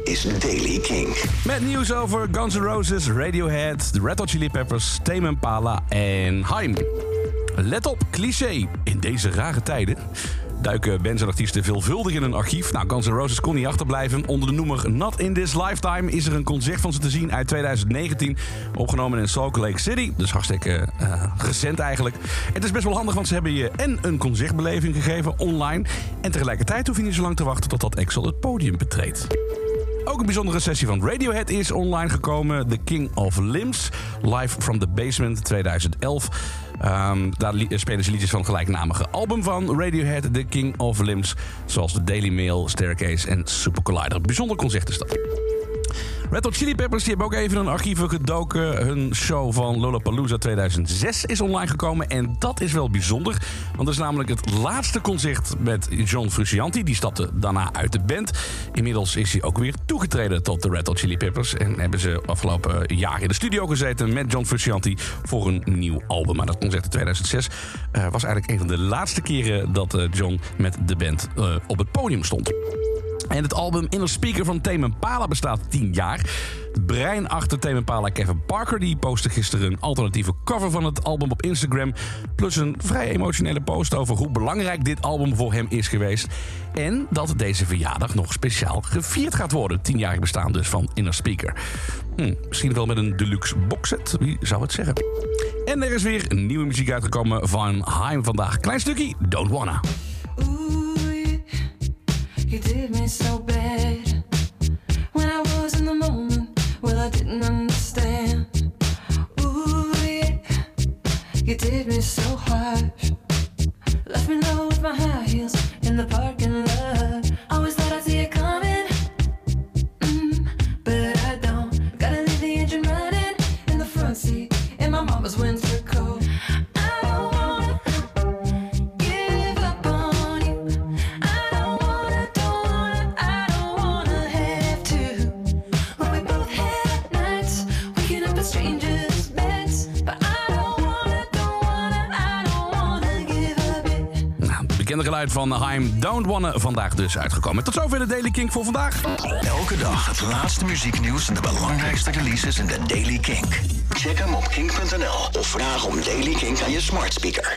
is Daily Kink. Met nieuws over Guns N' Roses, Radiohead, The Red Hot Chili Peppers, Tame Impala en Haim. Let op, cliché. In deze rare tijden duiken bands en artiesten veelvuldig in een archief. Nou, Guns N' Roses kon niet achterblijven. Onder de noemer Not In This Lifetime is er een concert van ze te zien uit 2019. Opgenomen in Salt Lake City. Dus hartstikke recent eigenlijk. Het is best wel handig, want ze hebben je en een concertbeleving gegeven online. En tegelijkertijd hoef je niet zo lang te wachten tot dat Axl het podium betreedt. Ook een bijzondere sessie van Radiohead is online gekomen. The King of Limbs, Live from the Basement 2011. Daar spelen ze liedjes van het gelijknamige album van Radiohead, The King of Limbs. Zoals de Daily Mail, Staircase en Super Collider. Bijzonder concert is dat. Red Hot Chili Peppers die hebben ook even in een archieven gedoken. Hun show van Lollapalooza 2006 is online gekomen. En dat is wel bijzonder. Want dat is namelijk het laatste concert met John Frusciante. Die stapte daarna uit de band. Inmiddels is hij ook weer toegetreden tot de Red Hot Chili Peppers. En hebben ze afgelopen jaar in de studio gezeten met John Frusciante voor een nieuw album. Maar dat concert in 2006 was eigenlijk een van de laatste keren dat John met de band op het podium stond. En het album Inner Speaker van Tame Impala bestaat 10 jaar. Het brein achter Tame Impala, Kevin Parker, die postte gisteren een alternatieve cover van het album op Instagram. Plus een vrij emotionele post over hoe belangrijk dit album voor hem is geweest. En dat deze verjaardag nog speciaal gevierd gaat worden. 10-jarig bestaan dus van Inner Speaker. Misschien wel met een deluxe boxset, wie zou het zeggen. En er is weer nieuwe muziek uitgekomen van Haim vandaag. Klein stukje, Don't Wanna. You did me so bad when I was in the moment. Well, I didn't understand. Ooh, yeah. You did me so harsh. Left me low with my high heels in the parking lot. Always thought I'd see it coming, but I don't. Gotta leave the engine running in the front seat in my mama's winter coat. Bekende geluid van Haim, Don't Wanna, vandaag dus uitgekomen. Tot zover de Daily Kink voor vandaag. Elke dag het laatste muzieknieuws en de belangrijkste releases in de Daily Kink. Check hem op kink.nl of vraag om Daily Kink aan je smart speaker.